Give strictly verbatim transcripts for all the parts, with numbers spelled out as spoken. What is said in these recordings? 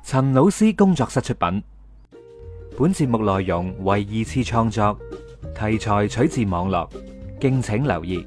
陳老師工作室出品，本節目內容為二次創作，題材取自網絡，敬請留意。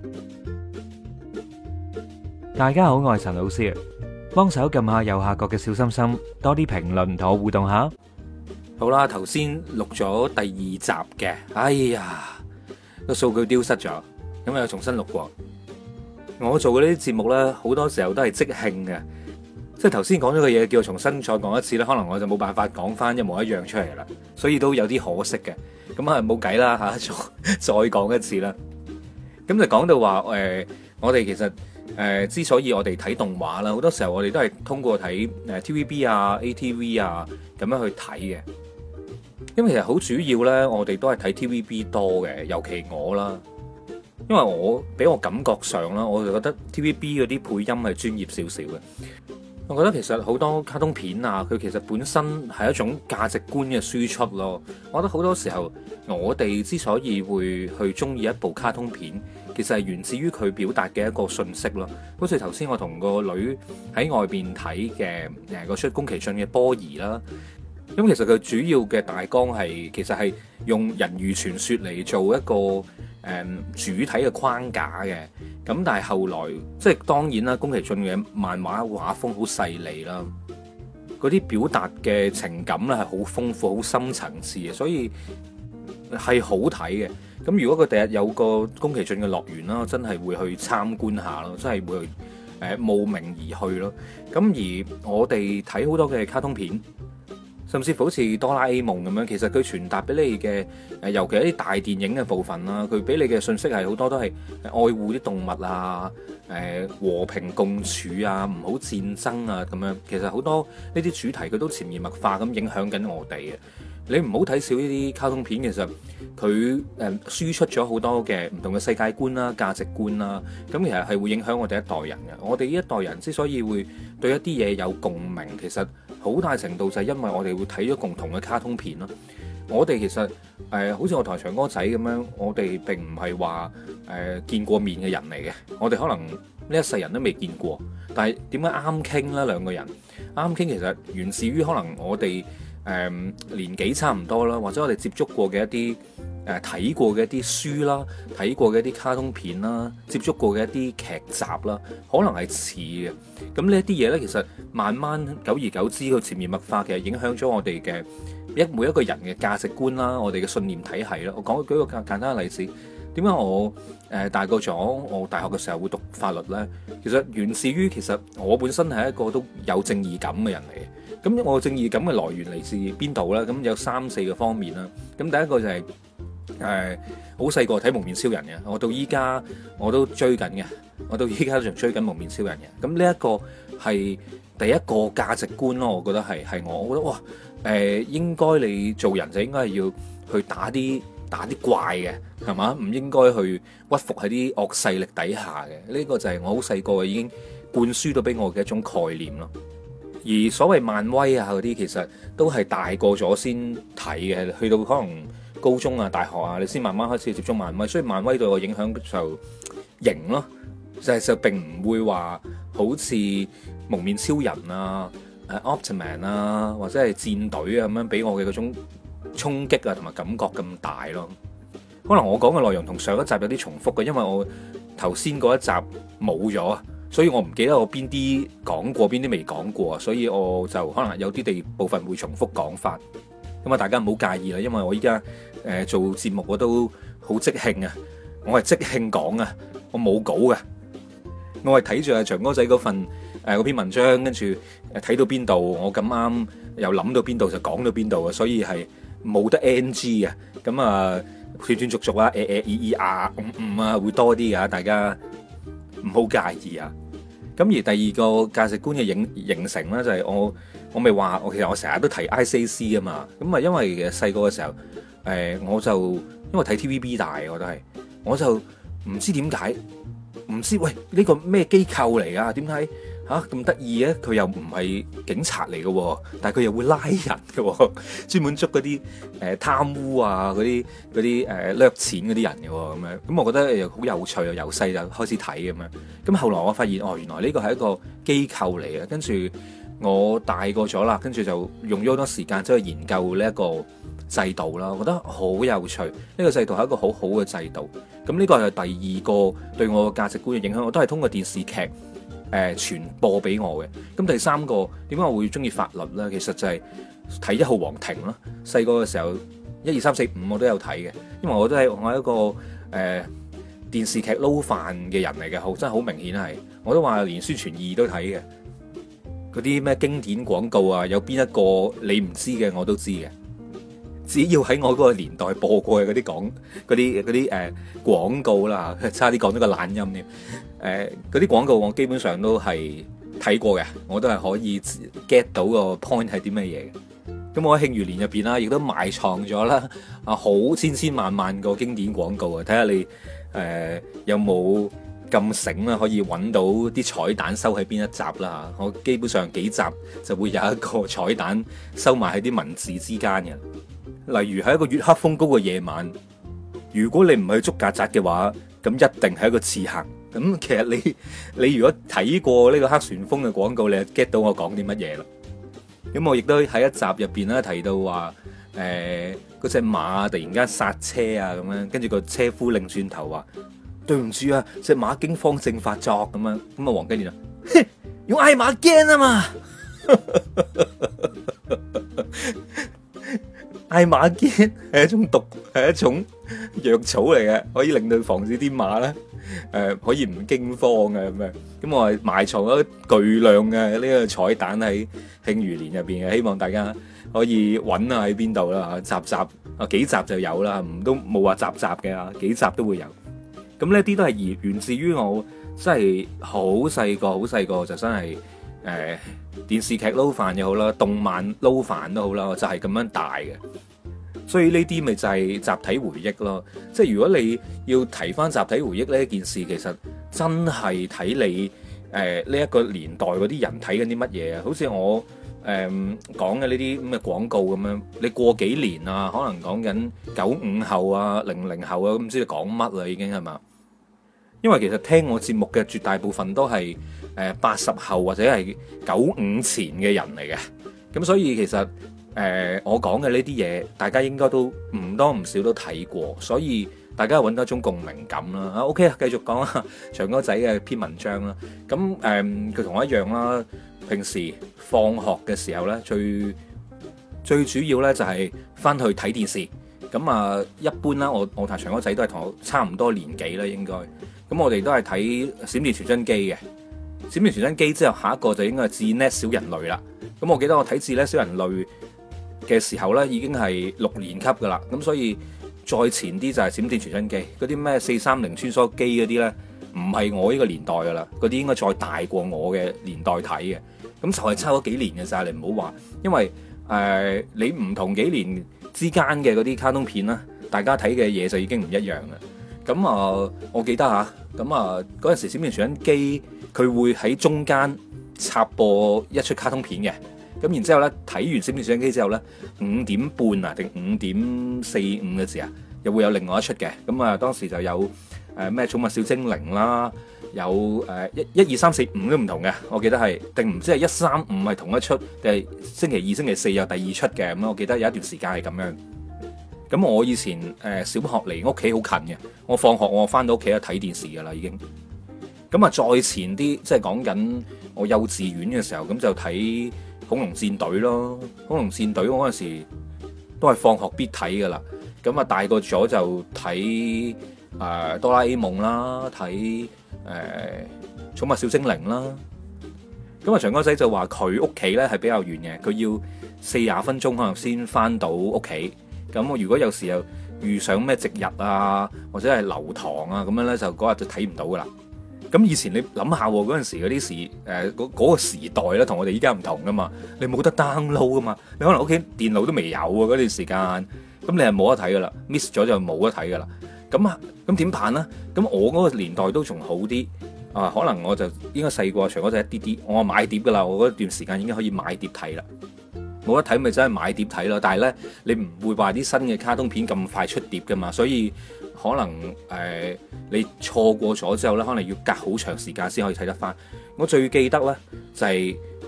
大家好，我係陳老師，幫手撳下右下角嘅小心心，多啲評論同我互動下。 好啦，頭先錄咗第二集嘅，哎呀，個數據丟失咗，咁又重新錄過。我做嘅呢啲節目呢，好多時候都係即興嘅，即係頭先講咗嘅嘢，叫我重新再講一次呢，可能我就冇辦法講翻一模一樣出嚟啦，所以都有啲可惜嘅。咁啊冇計啦吓，再再講一次啦。咁就講到話誒、呃，我哋其實誒、呃，之所以我哋睇動畫啦，好多時候我哋都係通過睇誒 T V B 啊、A T V 啊咁樣去睇嘅。因為其實好主要咧，我哋都係睇 T V B 多嘅，尤其我啦。因為我俾我感覺上啦，我就覺得 T V B 嗰啲配音係專業少少嘅。我覺得其實好多卡通片啊，佢其實本身係一種價值觀嘅輸出咯。我覺得好多時候，我哋之所以會去中意一部卡通片，其實係源自於佢表達嘅一個信息咯。好似頭先我同個女喺外邊睇嘅誒嗰出宮崎駿嘅波兒啦。咁其實佢主要嘅大綱係其實係用人魚傳說嚟做一個誒、嗯、主體嘅框架嘅。咁但係後來即係當然啦，宮崎駿嘅漫畫畫風好細膩啦，嗰啲表達嘅情感咧係好豐富、好深層次嘅，所以係好睇嘅。咁如果佢第日有個宮崎駿嘅樂園啦，真係會去參觀下咯，真係會去誒慕名而去咯。咁而我哋睇好多嘅卡通片，甚至乎好似哆啦 A 夢咁樣，其實佢傳達俾你嘅誒，尤其係啲大電影嘅部分啦，佢俾你嘅信息係好多都係愛護啲動物啊，誒和平共處啊，唔好戰爭啊咁樣。其實好多呢啲主題佢都潛移默化咁影響緊我哋嘅。你唔好睇少呢啲卡通片，其實佢誒輸出咗好多嘅唔同嘅世界觀啦、價值觀啦，咁其實係會影響我哋一代人嘅。我哋呢一代人之所以會對一啲嘢有共鳴，其實好大程度就係因為我哋會睇咗共同嘅卡通片咯。我哋其實誒、呃，好似我台長哥仔咁樣，我哋並唔係話誒見過面嘅人嚟嘅。我哋可能呢一世人都未見過，但係點解啱傾呢？兩個人啱傾，其實源自於可能我哋誒、呃、年紀差唔多啦，或者我哋接觸過嘅一啲誒睇過嘅一啲書啦，睇過嘅一啲卡通片啦，接觸過嘅一啲劇集啦，可能係似嘅。咁呢一啲嘢呢，其實慢慢久而久之，佢潛移默化，其實影響咗我哋嘅一每一個人嘅價值觀啦，我哋嘅信念體系啦。我講舉個簡簡單嘅例子，點解我誒、呃、大個咗，我大學嘅時候會讀法律呢？其實源自於其實我本身係一個都有正義感嘅人嚟嘅。咁我正義感嘅來源嚟自邊度呢？咁有三四個方面啦。咁第一個就係、是。誒，好細個睇蒙面超人嘅，我到依家我都追緊嘅，我到依家仲追緊蒙面超人嘅。咁呢一個係第一個價值觀咯，我覺得係係我，我覺得哇，誒、呃，應該你做人就應該係要去打啲打啲怪嘅，係嘛？唔應該去屈服喺啲惡勢力底下嘅。呢、這個就係我好細個已經灌輸到俾我嘅一種概念咯。而所謂漫威啊嗰啲，其實都係大個咗先睇嘅，去到可能高中啊、大學啊，你先慢慢開始接觸漫威，所以漫威對我影響就型咯，就係就並唔會話好似蒙面超人啊、誒 Optiman 啊或者係戰隊啊咁樣俾我嘅嗰種衝擊啊同埋感覺咁大咯。可能我講嘅內容同上一集有啲重複嘅，因為我頭先嗰一集冇咗，所以我唔記得我邊啲講過，邊啲未講過，所以我就可能有啲地部分會重複講翻。咁啊，大家唔好介意啦，因為我依家誒做節目我都好即興啊，我係即興講啊，我冇稿嘅，我係睇住阿長哥仔嗰份誒嗰篇文章，跟住誒睇到邊度，我咁啱又諗到邊度就講到邊度啊，所以係冇得 N G 啊，咁啊斷斷續續啊，誒誒咦咦啊嗯嗯啊會多啲噶，大家唔好介意啊。咁而第二個價值觀嘅形形成咧，就係我我咪話我其實我成日都提 I C A C 啊嘛，咁啊因為其實細個嘅時候，誒我就因為睇 T V B 大，我都係，我就唔知點解，唔知喂呢個咩機構嚟啊？點解嚇咁得意嘅？佢又唔係警察嚟嘅，但係佢又會拉人嘅，專門捉嗰啲誒貪污啊嗰啲嗰啲誒掠錢嗰啲人嘅咁樣。咁我覺得又好有趣啊！由細就開始睇咁樣。咁後來我發現哦，原來呢個係一個機構嚟嘅，跟住我大個咗啦，跟住就用咗好多時間走去研究呢一個制度啦，我覺得好有趣。呢個制度係一個好好嘅制度。咁呢個係第二個對我嘅價值觀嘅影響，我都係通過電視劇誒傳播俾我嘅。咁第三個點解我會中意法律呢？其實就係睇一號皇庭啦。細個嘅時候，一二三四五我都有睇嘅，因為我都係我係一個誒、呃、電視劇撈飯嘅人嚟嘅，好真係好明顯係。我都話連宣傳二都睇嘅。嗰啲咩經典廣告啊，有邊一個你唔知嘅我都知嘅。只要喺我嗰個年代播過嘅嗰啲廣嗰啲嗰啲誒廣告啦，差啲講咗個懶音添。誒嗰啲廣告我基本上都係睇過嘅，我都係可以 get 到個 point 係啲咩嘢嘅。咁我喺慶餘年入邊啦，亦都埋藏咗啦啊好千千萬萬個經典廣告啊！睇下你誒、呃、有冇咁醒啦，可以揾到啲彩蛋收喺邊一集啦。我基本上幾集就會有一個彩蛋收埋喺啲文字之間嘅。例如喺一個月黑風高嘅夜晚，如果你唔去捉曱甴嘅話，咁一定係一個刺客。咁其實你你如果睇過呢個黑旋風嘅廣告，你就 get 到我講啲乜嘢啦。咁我亦都喺一集入邊咧提到話，誒嗰隻馬突然間剎車啊咁樣，跟住個車夫擰轉頭話：對唔住啊，隻馬驚慌症發作咁樣。咁啊黃金年啊，用嗌馬驚啊嘛！艾馬堅係一種毒，係一種藥草嚟嘅，可以令到防止啲馬咧，誒、呃、可以唔驚慌嘅咁樣。咁我係埋藏咗巨量嘅呢個彩蛋喺慶餘年入邊嘅，希望大家可以揾下喺邊度啦，集集啊幾集就有啦，唔都冇話集集嘅，幾集都會有。咁呢啲都係源源自於我真係好細個，好細個就真係誒、呃、電視劇撈飯又好啦，動漫撈飯都好啦，我就係咁樣大嘅。所以呢啲咪就係集體回憶咯。即係如果你要提翻集體回憶呢一件事，其實真係睇你誒呢一個年代嗰啲人睇緊啲乜嘢啊。好似我誒講嘅呢啲咁嘅廣告咁樣，你過幾年啊，可能講緊九五後啊、零零後啊，咁唔知你講乜啦已經係嘛？因為其實聽我節目嘅絕大部分都係誒八十後或者係九五前嘅人嚟嘅，咁所以其實誒、呃、我講嘅呢啲嘢，大家應該都唔多唔少都睇過，所以大家揾到一種共鳴感啦。啊 OK 啊，繼續講啊，長哥仔嘅篇文章啦。咁誒佢同我一樣啦，平時放學嘅時候咧，最最主要咧就係翻去睇電視。咁啊，一般啦，我我同長哥仔都係同我差唔多年紀啦，應該。咁我哋都係睇閃電傳真機嘅，閃電傳真機之後下一個就應該係智叻小人類啦。咁我記得我睇智叻小人類嘅時候咧，已經係六年級噶啦。咁所以再前啲就係閃電傳真機，嗰啲咩四三零穿梭機嗰啲咧，唔係我呢個年代噶啦，嗰啲應該再大過我嘅年代睇嘅。咁就係差咗幾年嘅咋，你唔好話，因為誒、呃、你唔同幾年之間嘅嗰啲卡通片啦，大家睇嘅嘢就已經唔一樣啦。咁啊、呃，我記得嚇，咁啊嗰陣時閃電傳真機佢會喺中間插播一出卡通片嘅，咁然之後咧睇完閃電傳真機之後咧，五點半啊定五點四五嘅時啊，又會有另外一出嘅，咁啊當時就有誒咩寵物小精靈啦，有誒一一二三四五都唔同嘅，我記得係定唔知係一三五係同一出，定係星期二星期四有第二出嘅，咁我記得有一段時間係咁樣。咁我以前誒、呃、小學離屋企好近嘅，我放學我翻到屋企就睇電視噶啦已經。咁啊再前啲，即係講緊我幼稚園嘅時候，咁就睇恐龍戰隊咯。恐龍戰隊我嗰陣時都係放學必睇噶啦。咁啊大個咗就睇誒、呃、哆啦 A 夢啦，睇誒、呃、寵物小精靈啦。咁啊長哥仔就話佢屋企咧係比較遠嘅，佢要四十分鐘可能先翻到屋企。咁我如果有時又遇上咩值日啊，或者係留堂啊，咁樣咧就嗰日就睇唔到噶啦。咁以前你諗下嗰陣時嗰啲時誒嗰嗰個時代咧，同我哋依家唔同噶嘛。你冇得 download 噶嘛，你可能屋企電腦都未有啊嗰段時間，咁你係冇得睇噶啦 ，miss 咗就冇得睇噶啦。咁啊咁點辦咧？咁我嗰個年代都仲好啲啊，可能我就應該細過長哥仔一啲啲，我買碟噶啦，我嗰段時間已經可以買碟睇啦。冇得睇咪真係買碟睇咯，但係咧你唔會話啲新嘅卡通片咁快出碟噶嘛，所以可能誒、呃、你錯過咗之後咧，可能要隔好長時間先可以睇得翻。我最記得咧就係、是、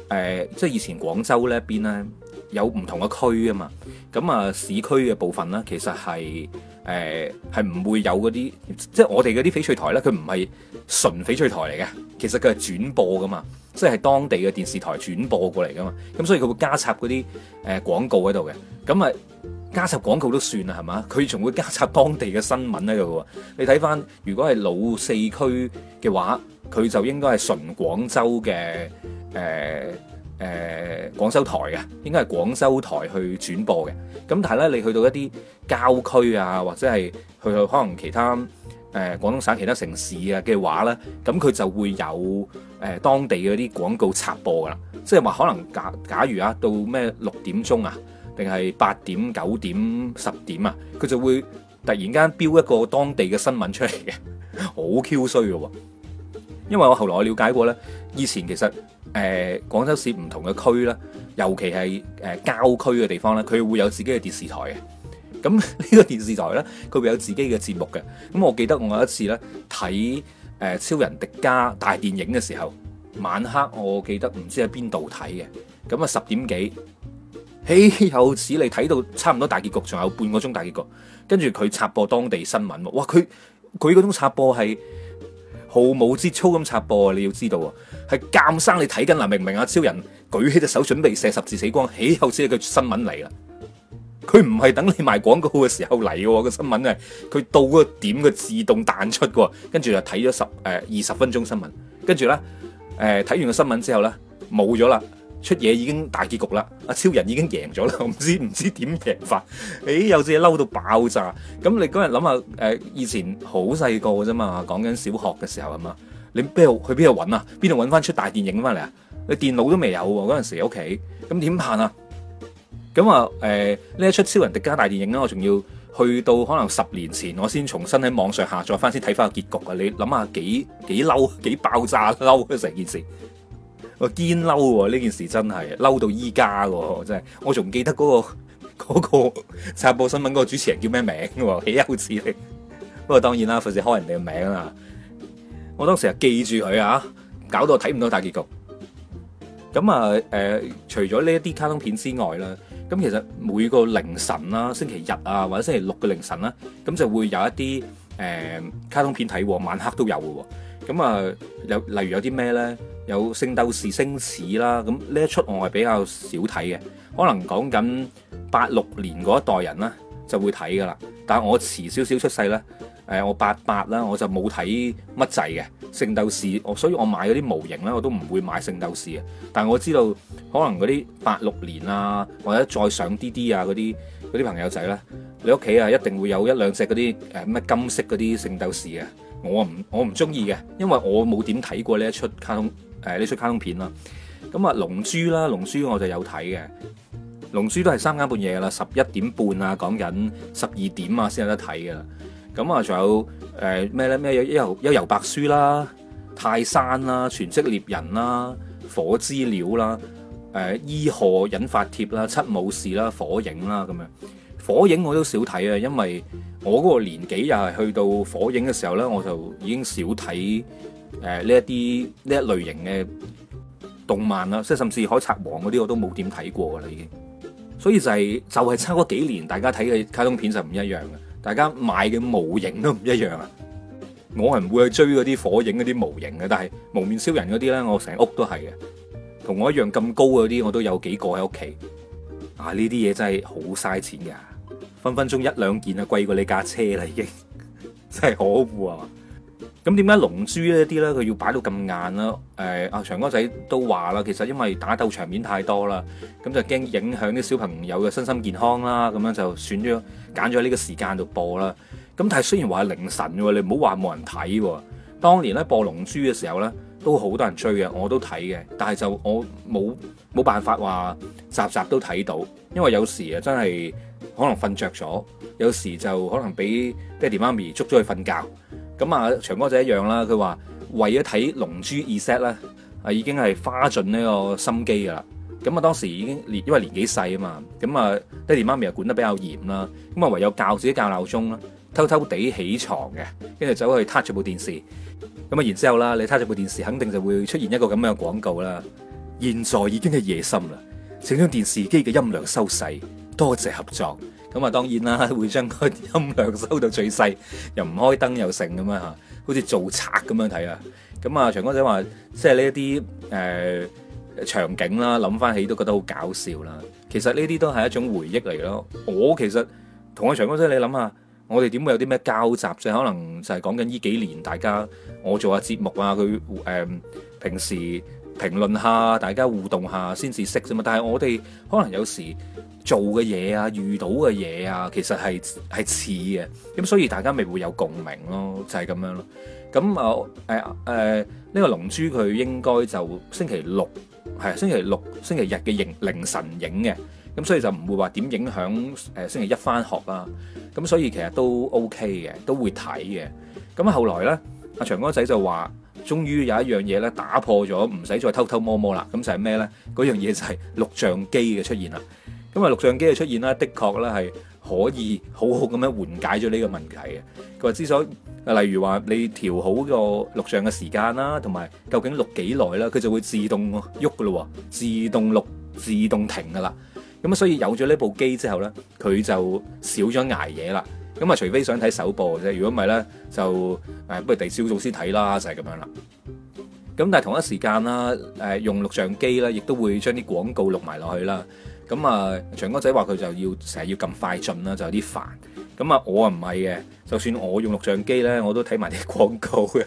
呃、即係以前廣州呢一邊咧有唔同嘅區啊嘛，咁啊市區嘅部分咧其實係誒係唔會有嗰啲，即係我哋嗰啲翡翠台咧，佢唔係純翡翠台嚟嘅，其實佢係轉播噶嘛，即係當地嘅電視台轉播過嚟噶嘛，咁所以佢會加插嗰啲誒廣告喺度嘅，咁啊加插廣告都算啦係嘛，佢仲會加插當地嘅新聞喺度喎。你睇翻如果係老四區嘅話，佢就應該係純廣州嘅誒誒廣州台嘅，應該係廣州台去轉播嘅。咁但係咧，你去到一啲郊區啊，或者係去到可能其他誒、呃、廣東省其他城市啊嘅話咧，咁佢就會有誒、呃、當地嗰啲廣告插播噶啦。即係話可能假假如啊，到咩六點鐘啊，定係八點、九點、十點啊，佢就會突然間標一個當地嘅新聞出嚟嘅，好 Q 衰嘅喎。因為我後來我了解過咧，以前其實誒、呃、廣州市唔同嘅區咧，尤其係誒、呃、郊區嘅地方咧，佢會有自己嘅電視台嘅。咁呢個電視台咧，佢會有自己嘅節目嘅。咁我記得我有一次咧睇誒超人迪迦大電影嘅時候，晚黑我記得唔知喺邊度睇嘅。咁啊十點幾，豈有此理，睇到差唔多大結局，仲有半個鐘大結局，跟住佢插播當地新聞喎。哇！佢佢嗰種插播係毫無節操咁插播啊！你要知道啊，係監生你睇緊啦，明唔明啊？超人舉起隻手準備射十字死光，豈有此理，佢新聞嚟啦！佢唔係等你賣廣告嘅時候嚟嘅，個新聞係佢到嗰個點佢自動彈出嘅，跟住就睇咗十誒二十分鐘新聞，跟住咧誒睇完個新聞之後咧冇咗啦。出嘢已經大結局啦，阿超人已經贏咗啦，我唔知唔知點贏法，誒有隻嘢嬲到爆炸。咁你嗰日諗下，誒以前好細個嘅啫嘛，講緊小學嘅時候啊嘛，你邊度去邊度揾啊？邊度揾翻出大電影翻嚟啊？你電腦都未有喎，嗰陣時喺屋企，咁點辦啊？咁啊誒呢一出超人迪迦大電影咧，我仲要去到可能十年前，我先重新喺網上下載翻先睇翻個結局啊！你諗下幾幾嬲，幾爆炸嬲啊成件事！我堅嬲喎，呢件事真係嬲到依家喎，真係我仲記得嗰、嗰個嗰、嗰個插播新聞嗰個主持人叫咩名喎？豈有此理！不過當然啦，費事開人哋嘅名啦。我當時係記住佢啊，搞到我睇唔到大結局。咁啊誒，除咗呢一啲卡通片之外啦，咁其實每個凌晨啦、星期日啊或者星期六嘅凌晨啦，咁就會有一啲誒、呃、卡通片睇，晚黑都有嘅喎。咁啊，有例如有啲咩咧？有《聖鬥士星矢》啦，咁呢一出我係比較少睇嘅，可能講緊八六年嗰一代人啦就會睇噶啦。但係我遲少少出世咧，誒我八八啦，我就冇睇乜滯嘅《聖鬥士》，我所以我買嗰啲模型咧我都唔會買《聖鬥士》嘅。但係我知道可能嗰啲八六年啊，或者再上啲啲啊嗰啲嗰啲朋友仔咧，你屋企啊一定會有一兩隻嗰啲誒咩金色嗰啲聖鬥士嘅。我唔我唔中意嘅，因為我冇點睇過呢一出卡通。誒呢出卡通片啦，咁啊龍珠啦，龍珠我就有睇嘅，龍珠都係三更半夜噶啦，十一點半啊，講緊十二點啊先有得睇噶啦。咁啊仲有誒咩咧？咩幽遊幽遊白書啦、泰山啦、全職獵人啦、火之鳥啦、誒伊賀引發帖啦、七武士啦、火影啦咁樣。火影我都少睇啊，因為我嗰個年紀又係去到火影嘅時候咧，我就已經少睇。誒呢一啲呢一類型嘅動漫啦，即係甚至海賊王嗰啲我都冇點睇過噶啦已經，所以就係、是、就係、是、差嗰幾年，大家睇嘅卡通片就唔一樣嘅，大家買嘅模型都唔一樣啊！我係唔會去追嗰啲火影嗰啲模型嘅，但係蒙面超人嗰啲咧，我成屋都係嘅，同我一樣咁高嗰啲我都有幾個喺屋企。啊！呢啲嘢真係好嘥錢噶，分分鐘一兩件啊貴過你架車啦已經，真係可惡啊！咁點解龍珠呢啲咧佢要擺到咁硬啦？誒、呃，阿長哥仔都話啦，其實因為打鬥場面太多啦，咁就驚影響啲小朋友嘅身心健康啦，咁樣就選咗揀咗呢個時間度播啦。咁但係雖然話係凌晨喎，你唔好話冇人睇喎。當年咧播龍珠嘅時候咧，都好多人追嘅，我都睇嘅，但係就我冇冇辦法話集集都睇到，因為有時啊真係可能瞓着咗，有時就可能俾爹哋媽咪捉咗去瞓覺。咁啊，長哥仔一樣啦。佢話為咗睇《龍珠 Z》咧，啊已經係花盡呢個心機噶啦。咁啊，當時已經年因為年紀細啊嘛，咁啊爹哋媽咪又管得比較嚴啦，咁啊唯有教自己校鬧鐘啦，偷偷地起床嘅，跟住走去撻住部電視。咁啊，然之後啦，你撻住部電視，肯定就會出現一個咁樣嘅廣告啦。 現在已經係夜深啦，請將電視機嘅音量收細，多謝合作。咁啊，當然啦，會將個音量收到最細，又唔開燈又成咁樣嚇，好似做賊咁樣睇啊。咁啊，長江仔話，即係呢一啲誒場景啦，諗翻起都覺得好搞笑啦。其實呢啲都係一種回憶嚟咯。我其實同阿長江仔，你諗下，我哋點會有啲咩交集啫？可能就係講緊呢幾年，大家我做下節目啊，佢誒、呃、平時評論下，大家互動下先至識啫嘛。但係我哋可能有時做嘅嘢啊，遇到嘅嘢啊，其實係係似嘅，咁所以大家咪會有共鳴咯，就係、是、咁樣咯。咁啊誒誒呢個龍珠佢應該就星期六係星期六星期日嘅凌凌晨影嘅，咁所以就唔會話點影響誒星期一返學啦。咁所以其實都 OK 嘅，都會睇嘅。咁後來咧，阿長哥仔就話，終於有一樣嘢咧打破咗，唔使再偷偷摸摸啦。咁就係咩咧？嗰樣嘢就係錄像機嘅出現啦。咁啊，錄像機嘅出現咧，的確咧係可以好好咁樣緩解咗呢個問題嘅。佢話之所以，例如話你調好個錄像嘅時間啦，同埋究竟錄幾耐啦，佢就會自動喐噶咯，自動錄、自動停噶啦。咁啊，所以有咗呢部機之後咧，佢就少咗捱夜啦。咁啊，除非想睇首播啫，如果唔係咧，就誒不如第二朝早先睇啦，就係咁樣啦。咁但係同一時間啦，誒用錄像機咧，亦都會將啲廣告錄埋落去啦。咁啊，長哥仔話佢就要成日要咁快進啦，就有啲煩。咁啊，我啊唔係嘅，就算我用錄像機咧，我都睇埋啲廣告嘅。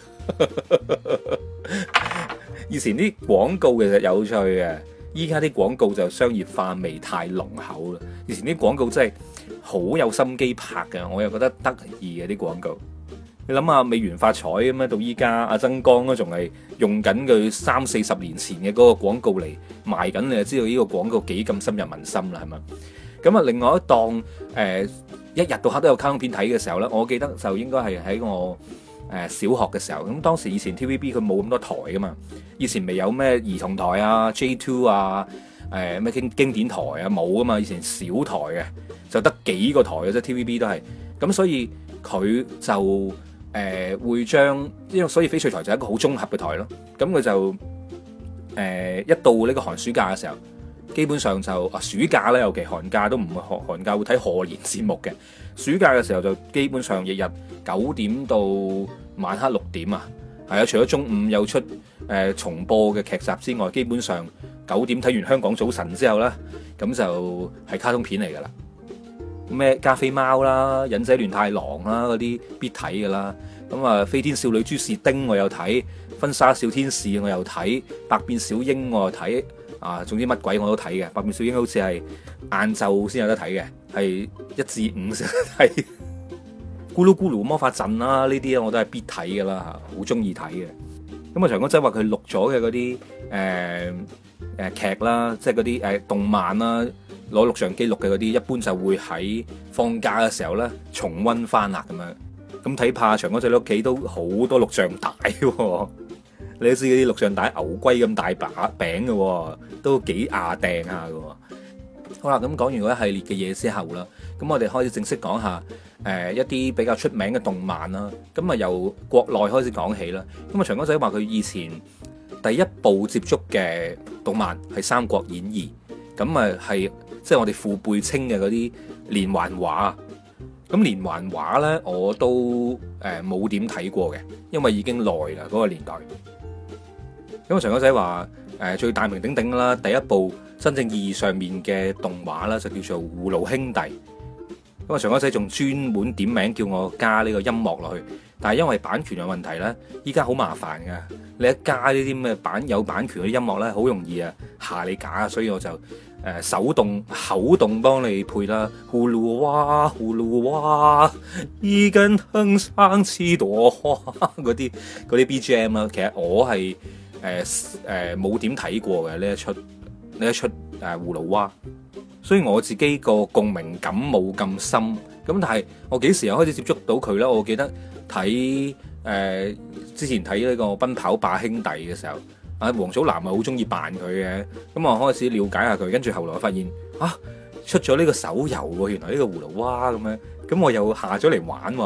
以前啲廣告其實有趣嘅，依家啲廣告就商業化味太濃厚啦。以前啲廣告真係好有心機拍嘅，我又覺得得意嘅啲廣告。你諗下，美元發財咁樣到依家，阿曾江都仲係用緊佢三四十年前嘅嗰個廣告嚟賣緊，你就知道呢個廣告幾咁深入民心啦，係咪？咁啊，另外一檔誒、呃，一日到黑都有卡通片睇嘅時候咧，我記得就應該係喺我誒、呃、小學嘅時候。咁當時以前 T V B 佢冇咁多台噶嘛，以前未有咩兒童台啊、J 二 啊、誒咩經經典台啊，冇噶嘛，以前小台嘅，就得幾個台嘅啫 T V B 都係。咁所以佢就誒、呃、會將，因為所以翡翠台就係一個好綜合嘅台咯。咁佢就誒、呃、一到呢個寒暑假嘅時候，基本上就啊暑假咧，尤其寒假都唔會寒寒假會睇賀年節目嘅。暑假嘅時候就基本上日日九點到晚黑六點啊，係啊，除咗中午有出誒、呃、重播嘅劇集之外，基本上九點睇完香港早晨之後咧，咁就係卡通片嚟噶啦。咩加菲貓啦、忍者亂太郎啦嗰啲必睇噶啦，咁啊飛天少女豬事丁我又睇，婚紗小天使我又睇，百變小櫻我又睇，啊總之乜鬼我都睇嘅。百變小櫻好似係晏晝先有得睇嘅，係一至五先有得睇。咕嚕咕嚕魔法陣啦，呢啲我都係必睇噶啦，好中意睇嘅。咁啊長哥仔話佢錄咗嘅嗰啲誒誒劇啦，即係嗰啲誒動漫啦。攞錄像機錄嘅嗰啲，一般就會喺放假嘅時候咧重溫翻啦咁樣。咁睇怕長哥仔屋企都好多錄像帶喎，你都知嗰啲錄像帶牛龜咁大把餅嘅，都幾牙掟下嘅。好啦，咁講完嗰一系列嘅嘢之後啦，咁我哋開始正式講下誒、呃、一啲比較出名嘅動漫啦。咁啊由國內開始講起啦。咁啊長哥仔話佢以前第一部接觸嘅動漫係《三國演義》，咁啊係。即係我哋父輩稱嘅嗰啲連環畫，咁連環畫咧我都誒冇點睇過嘅，因為已經耐啦嗰個年代。咁啊長哥仔話誒最大名鼎鼎啦，第一部真正意義上面嘅動畫啦，就叫做《葫蘆兄弟》。咁啊長哥仔仲專門點名叫我加呢個音樂落去，但係因為版權嘅問題咧，依家好麻煩噶。你一加呢啲咩版有版權嘅音樂咧，好容易啊下你架，所以我就誒、呃、手動口動幫你配啦。葫蘆娃，葫蘆娃，一根藤上七朵花嗰啲嗰啲 B G M 啦。其實我係誒誒冇點睇過嘅呢一出呢一出誒葫蘆娃，所以我自己個共鳴感冇咁深。咁但係我幾時又開始接觸到佢咧？我記得睇誒、呃、之前睇呢個《奔跑吧兄弟》嘅時候，啊王祖藍咪好中意扮佢嘅，咁我開始了解下佢，跟住後來我發現啊出咗呢個手遊喎，原來呢個葫蘆娃咁樣，咁我又下咗嚟玩喎，好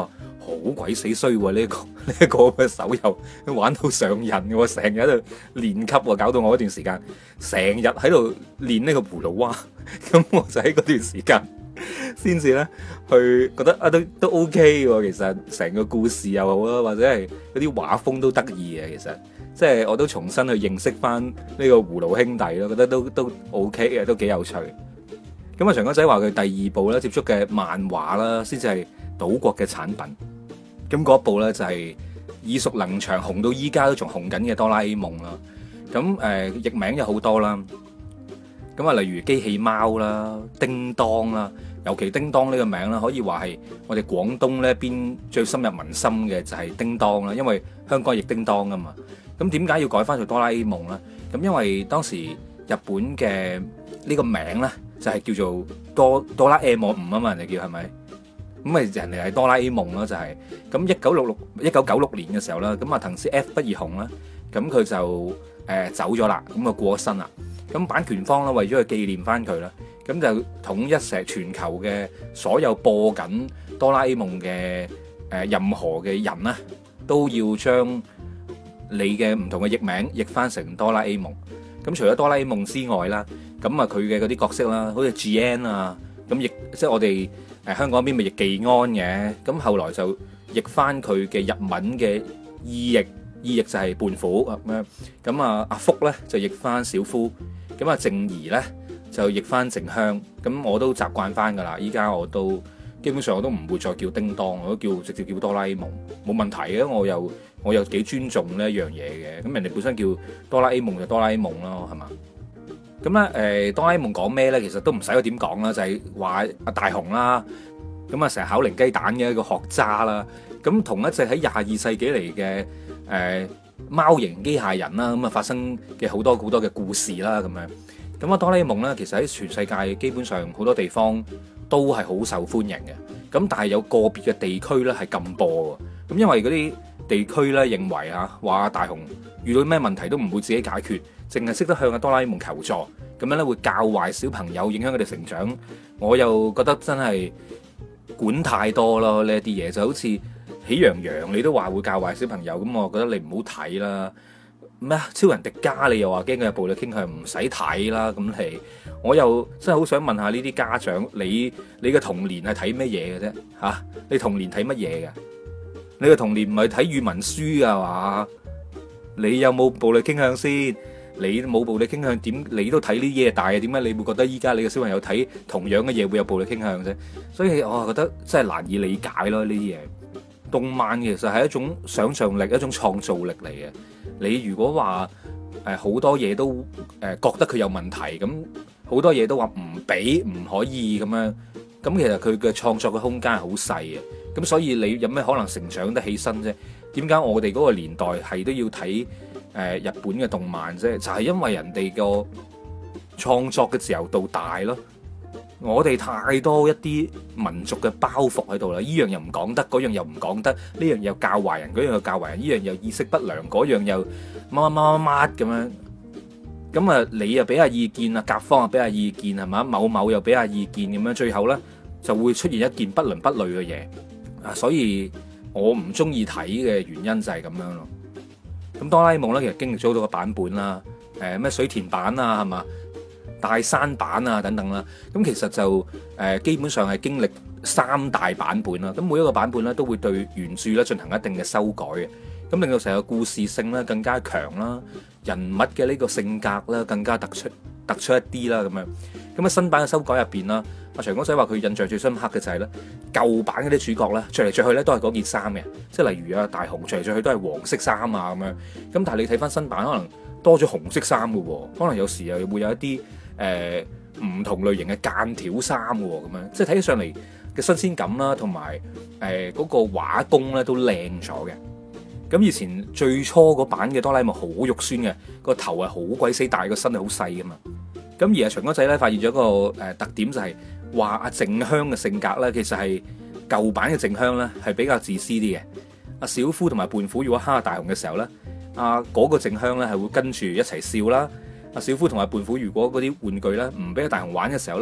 好鬼死衰喎！呢、呢個呢一、個嘅手遊玩到上癮嘅喎，成日喺度練級喎，搞到我嗰段時間成日喺度練呢個葫蘆娃，咁我就喺嗰段時間先至咧去覺得啊都都 OK 喎，其實成個故事又好啦，或者係嗰啲畫風都得意嘅，其實即係我都重新去認識翻呢個葫蘆兄弟咯，覺得都都 OK 嘅，都幾有趣。咁啊，長江仔話佢第二部咧接觸嘅漫畫啦，先至係島國嘅產品。咁嗰一部咧就係耳熟能詳，紅到依家都仲紅緊嘅哆啦 A 夢啦。咁誒、呃、譯名有好多啦。咁啊，例如機器貓啦、叮當啦，尤其叮當呢個名啦，可以話係我哋廣東呢邊最深入民心嘅就係叮當啦，因為香港譯叮當啊嘛。咁點解要改翻做哆啦 A 夢咧？咁因為當時日本嘅呢個名咧就係叫做哆哆啦 A 夢五啊嘛，人哋叫係咪？咁咪人哋係哆啦 A 夢咯，就係咁一九六六一九九六年嘅時候啦，咁啊藤子 F 不二雄啦，咁佢就誒走咗啦，咁啊過咗身啦。咁版權方咧為咗去紀念翻佢啦，咁就統一成全球嘅所有播緊哆啦 A 夢嘅誒任何嘅人咧，都要將你嘅唔同嘅譯名譯翻成哆啦 A 夢。咁除咗哆啦 A 夢之外啦，咁啊佢嘅嗰啲角色啦，好似 G N 啊，咁譯即係我哋誒香港邊咪譯技安嘅，咁後來就譯翻佢嘅日文嘅意譯，意譯就係胖虎咁樣。咁啊阿福咧就譯翻小夫，咁啊靜怡咧就譯翻靜香。咁我都習慣翻噶啦，依家我都基本上我都唔會再叫叮當，我都叫直接叫哆啦 A 夢，冇問題嘅。我又我又幾尊重呢一樣嘢嘅。咁人哋本身叫哆啦 A 夢就哆啦 A 夢咯，係嘛？咁咧誒哆啦 A 夢講咩咧？其實都唔使我點講啦，就係話阿大雄啦，咁啊成日考零雞蛋嘅一個學渣啦。咁同一隻喺廿二世紀嚟嘅誒貓型機械人啦，咁啊發生嘅好多好多嘅故事啦，咁樣。咁啊哆啦 A 夢咧，其實喺全世界基本上好多地方都係好受歡迎嘅。咁但係有個別嘅地區咧係禁播嘅。咁因為嗰啲地區咧認為啊，話大雄遇到咩問題都唔會自己解決，淨係識得向阿哆啦 A 夢求助，咁樣咧會教壞小朋友，影響佢哋成長。我又覺得真係管太多咯，呢一啲嘢就好似喜羊羊，你都話會教壞小朋友，咁我覺得你唔好睇啦。咩啊？超人迪迦你又話驚佢有暴力傾向，唔使睇啦。咁你我又真係好想問下呢啲家長，你你嘅童年係睇乜嘢嘅啫？吓、啊，你童年睇乜嘢嘅？你嘅童年唔係睇語文書噶嘛？你有冇暴力傾向先？你冇暴力傾向，點你都睇呢啲嘢大嘅？點解你會覺得依家你嘅小朋友睇同樣嘅嘢會有暴力傾向啫？所以我覺得真係難以理解咯，呢啲嘢。動漫其實係一種想像力，一種創造力嚟嘅。你如果話誒好多嘢都誒覺得佢有問題，咁好多嘢都話唔俾唔可以咁樣，咁其實佢嘅創作嘅空間係好細嘅。咁所以你有咩可能成長得起身啫？點解我哋嗰個年代係都要睇誒日本嘅動漫啫？就係因為人哋個創作嘅自由度大咯。我哋太多一啲民族嘅包袱喺度啦，依樣又唔講得，嗰樣又唔講得，呢樣又教壞人，嗰樣又教壞人，依樣又意識不良，嗰樣又乜乜乜乜乜咁樣。咁啊，你又俾下意見啊，甲方又俾下意見係嘛，某某又俾下意見咁樣，最後咧就會出現一件不倫不類嘅嘢啊！所以我唔中意睇嘅原因就係咁樣咯。咁哆啦 A 夢咧，其實經歷咗好多個版本啦，誒咩水田版啊，係嘛？大山版啊等等啦，咁其實就誒基本上係經歷三大版本啦，咁每一個版本咧都會對原著咧進行一定嘅修改嘅，咁令到成個故事性咧更加強啦，人物嘅呢個性格咧更加突出突出一啲啦咁樣。咁喺新版嘅修改入邊啦，阿長哥仔話佢印象最深刻嘅就係咧舊版嗰啲主角咧着嚟着去咧都係嗰件衫嘅，即係例如啊大雄着嚟着去都係黃色衫啊咁樣，咁但係你睇翻新版可能多咗紅色衫嘅喎，可能有時又會有一啲誒唔同類型嘅間條衫喎，咁樣即係睇起上嚟嘅新鮮感啦，同埋誒嗰個畫工咧都靚咗嘅。咁以前最初嗰版嘅哆啦 A 夢好肉酸嘅，個頭係好鬼死大，個身係好細噶嘛。咁而阿長哥仔咧發現咗一個誒特點，就係話阿靜香嘅性格咧，其實係舊版嘅靜香咧係比較自私啲嘅。阿小夫同埋胖虎如果蝦大雄嘅時候咧，阿嗰個靜香咧係會跟住一齊笑啦。阿小夫同埋胖虎如果嗰啲玩具咧唔俾阿大雄玩嘅時候咧，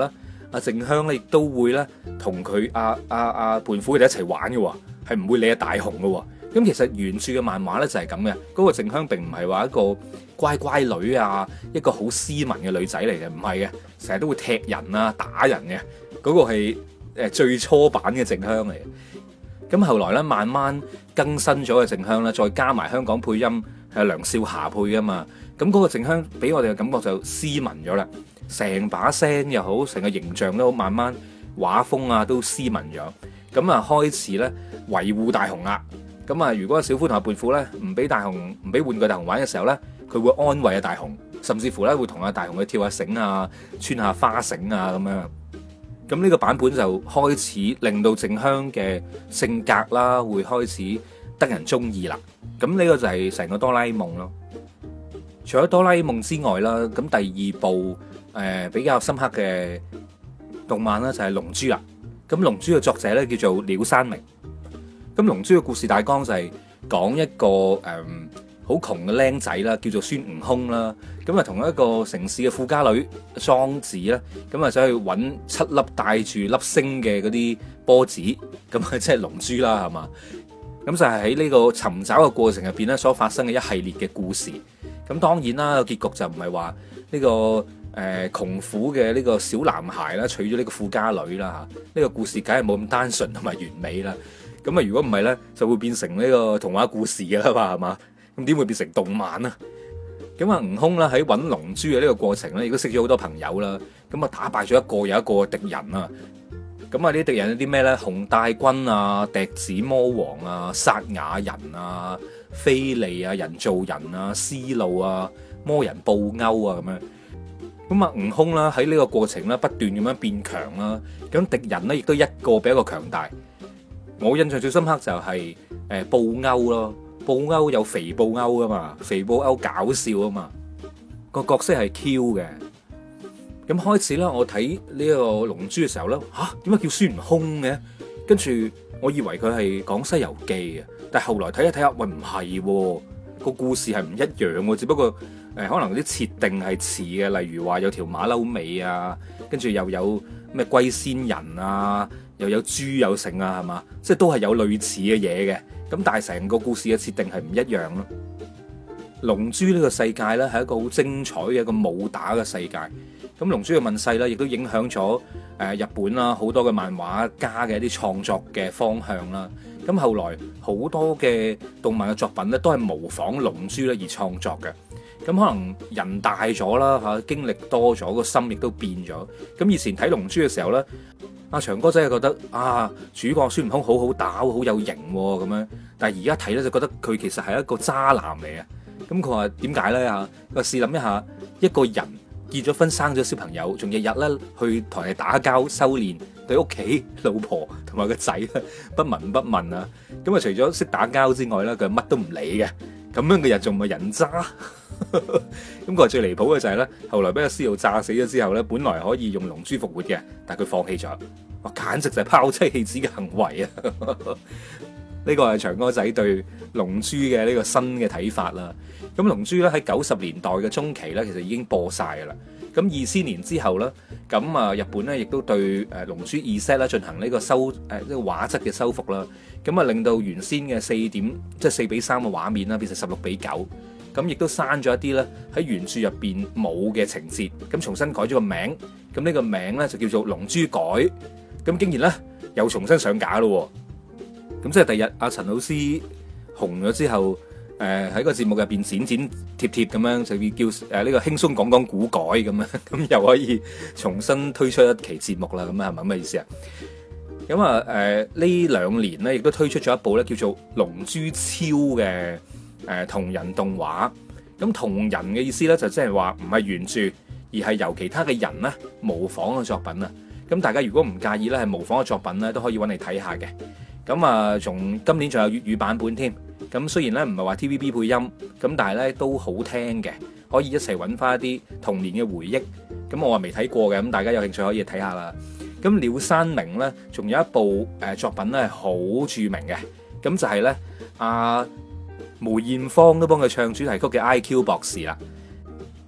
阿靜香咧亦都會咧同佢阿阿阿胖虎佢哋一齊玩嘅，係唔會理阿大雄嘅。咁其實原著嘅漫畫咧就係咁嘅，嗰個靜香並唔係話一個乖乖女啊，一個好斯文嘅女仔嚟嘅，唔係嘅，成日都會踢人啊、打人嘅，嗰個係誒最初版嘅靜香嚟嘅。咁後來咧慢慢更新咗嘅靜香咧，再加埋香港配音係梁少霞配噶嘛，咁嗰個靜香俾我哋嘅感覺就斯文咗啦，成把聲又好，成個形象都好，慢慢畫風啊都斯文咗，咁啊開始咧維護大雄啦。咁啊，如果小夫同阿胖虎咧唔俾大雄唔俾玩具大雄玩嘅時候咧，佢會安慰阿大雄，甚至乎咧會同阿大雄去跳下繩啊、穿下花繩啊咁樣。咁呢個版本就開始令到靜香嘅性格啦，會開始得人中意啦。咁呢個就係成個哆啦 A 夢咯。除咗哆啦 A 夢之外啦，咁第二部誒、呃、比較深刻嘅動漫啦就係龍珠啦。咁龍珠嘅作者咧叫做鳥山明。咁龍珠嘅故事大綱就係講一個誒好窮嘅僆仔啦，叫做孫悟空啦。咁啊同一個城市嘅富家女莊子啦，咁啊想去揾七粒帶住粒星嘅嗰啲波子，咁啊即係龍珠啦，係嘛？咁就係喺呢個尋找嘅過程入邊咧，所發生嘅一系列嘅故事。咁當然啦，個結局就唔係話呢個誒窮苦嘅呢個小男孩啦，娶咗呢個富家女啦嚇。呢個故事梗係冇咁單純同埋完美啦。咁啊，如果唔係咧，就會變成呢個童話故事㗎啦嘛，係嘛？咁點會變成動漫啊？咁啊，悟空啦喺揾龍珠嘅呢個過程咧，亦都識咗好多朋友啦。咁啊，打敗咗一個又一個敵人啊。咁啊，呢啲敵人有啲咩咧？紅帶軍啊、笛子魔王啊、薩雅人啊、菲利啊、人造人啊、思路啊、魔人布歐啊咁樣。咁啊，悟空啦喺呢個過程咧，不斷咁樣變強啦。咁敵人咧亦都一個比一個強大。我印象最深刻就係誒布歐咯，布歐有肥布歐噶嘛，肥布歐搞笑啊嘛，個角色係 Q 嘅。咁開始咧，我睇呢個龍珠嘅時候咧，吓點解叫孫悟空嘅？跟住我以為佢係講西遊記嘅，但係後來睇一睇下，喂唔係，個故事係唔一樣喎，只不過誒可能啲設定係似嘅，例如話有條馬騮尾啊，跟住又有咩龜仙人啊。又有豬有剩啊，係嘛？即係都係有類似嘅嘢嘅，咁但係成個故事嘅設定係唔一樣咯。龍珠呢個世界咧係一個好精彩嘅一個武打嘅世界。咁龍珠嘅問世咧，亦都影響咗誒日本啦好多嘅漫畫家嘅一啲創作嘅方向啦。咁後來好多嘅動漫嘅作品咧，都係模仿龍珠咧而創作嘅。咁可能人大咗啦嚇，經歷多咗，個心亦都變咗。咁以前睇龍珠嘅時候咧，阿長哥仔係覺得啊，主角孫悟空好好打，好有型咁樣。但係而家睇咧就覺得佢其實係一個渣男嚟啊。咁佢話點解咧嚇？佢話試諗一下，一個人結咗婚生咗小朋友，仲日日咧去同人打交修煉，對屋企老婆同埋個仔咧不聞不問啊。咁啊除咗識打交之外咧，佢乜都唔理嘅。咁樣嘅人仲唔係人渣？咁佢話最離譜嘅就係咧，後來俾阿師傅炸死咗之後咧，本來可以用龍珠復活嘅，但係佢放棄咗。哇，簡直就係拋妻棄子嘅行為啊！呢個係長哥仔對龍珠嘅呢個新嘅睇法啦。咁龍珠咧喺九十年代嘅中期咧，其實已經播晒噶啦。咁二千年之後咧，咁啊日本咧亦都對誒龍珠二 set 咧進行呢個修誒呢個畫質嘅修復啦。咁啊令到原先嘅四點即係四比三嘅畫面啦，變成十六比九。咁亦都刪咗一啲咧喺原著入邊冇嘅情節，咁重新改咗個名。咁呢個名咧就叫做龍珠改。咁竟然咧又重新上架咯。咁即係第日阿陳老師紅咗之後，誒喺個節目入邊剪剪貼貼咁樣，就叫誒呢個輕鬆講講古改咁樣，咁又可以重新推出一期節目啦。咁啊係咪咁嘅意思啊？咁啊誒呢兩年咧，亦都推出咗一部咧叫做《龍珠超》嘅誒同人動畫。咁同人嘅意思咧就即係話唔係原著，而係由其他嘅人咧模仿嘅作品啊。咁大家如果唔介意咧係模仿嘅作品咧，都可以揾嚟睇下嘅。咁啊，仲今年仲有粵語版本添。咁雖然咧唔係話 T V B 配音，咁但係咧都好聽嘅，可以一齊揾翻一啲童年嘅回憶。咁我話未睇過嘅，咁大家有興趣可以睇下啦。咁鳥山明咧，仲有一部誒作品咧係好著名嘅，咁就係咧阿梅艷芳都幫佢唱主題曲嘅 I Q 博士啦。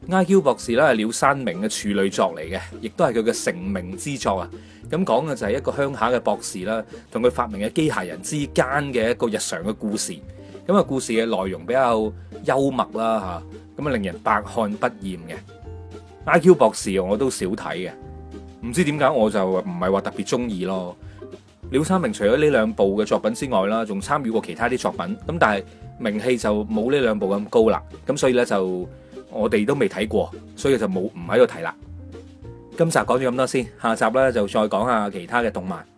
I Q 博士咧係鳥山明嘅處女作嚟嘅，亦都係佢嘅成名之作啊！咁講嘅就係一個鄉下嘅博士啦，同佢發明嘅機械人之間嘅一個日常嘅故事。咁啊，故事嘅內容比較幽默啦嚇，咁啊令人百看不厭嘅。I Q 博士我都少睇嘅，唔知點解我就唔係話特別中意咯。鳥山明除咗呢兩部嘅作品之外啦，仲參與過其他啲作品，咁但係名氣就冇呢兩部咁高啦。咁所以咧就我哋都未睇過，所以就冇唔喺度睇啦。今集講咗咁多先，下集咧就再講下其他嘅動漫。